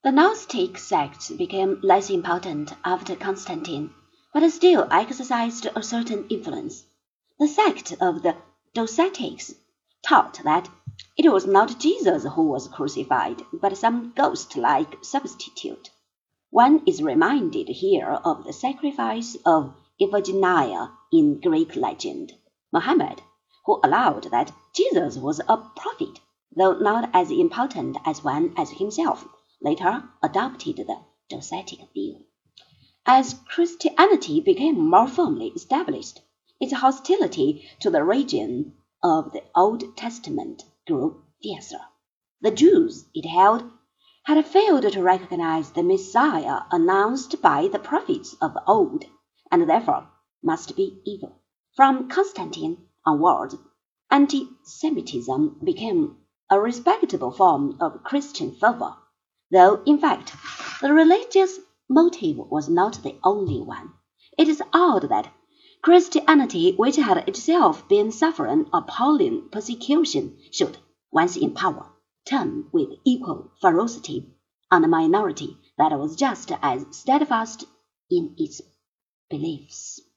The Gnostic sect became less important after Constantine, but still exercised a certain influence. The sect of the Docetics taught that it was not Jesus who was crucified, but some ghost-like substitute. One is reminded here of the sacrifice of Iphigenia in Greek legend. Muhammad, who allowed that Jesus was a prophet, though not as important as one as himself, later adopted the Docetic view. As Christianity became more firmly established, its hostility to the religion of the Old Testament grew fiercer. The Jews, it held, had failed to recognize the Messiah announced by the prophets of old, and therefore must be evil. From Constantine onward, anti-Semitism became a respectable form of Christian fervor, though in fact the religious motive was not the only one. It is odd that Christianity, which had itself been suffering appalling persecution, should, once in power, turn with equal ferocity on a minority that was just as steadfast in its beliefs.